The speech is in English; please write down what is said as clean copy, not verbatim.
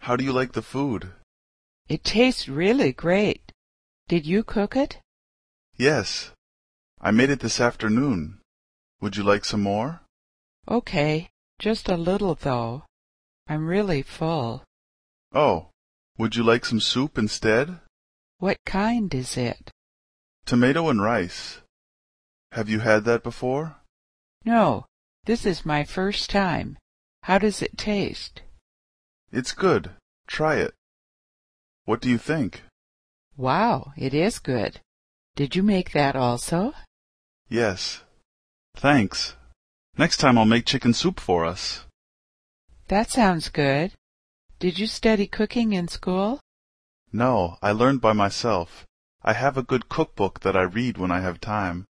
How do you like the food? It tastes really great. Did you cook it? Yes. I made it this afternoon. Would you like some more? Okay, just a little though. I'm really full. Oh, would you like some soup instead? What kind is it? Tomato and rice. Have you had that before? No, this is my first time. How does it taste? It's good. Try it. What do you think? Wow, it is good. Did you make that also? Yes. Thanks. Next time I'll make chicken soup for us. That sounds good. Did you study cooking in school? No, I learned by myself. I have a good cookbook that I read when I have time.